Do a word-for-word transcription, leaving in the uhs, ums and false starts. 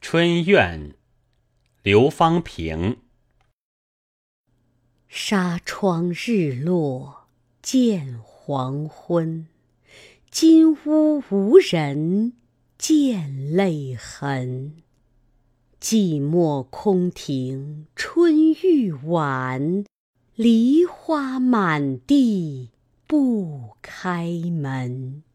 春怨，刘方平。 纱窗日落见黄昏，金屋无人见泪痕。寂寞空庭春欲晚，梨花满地不开门。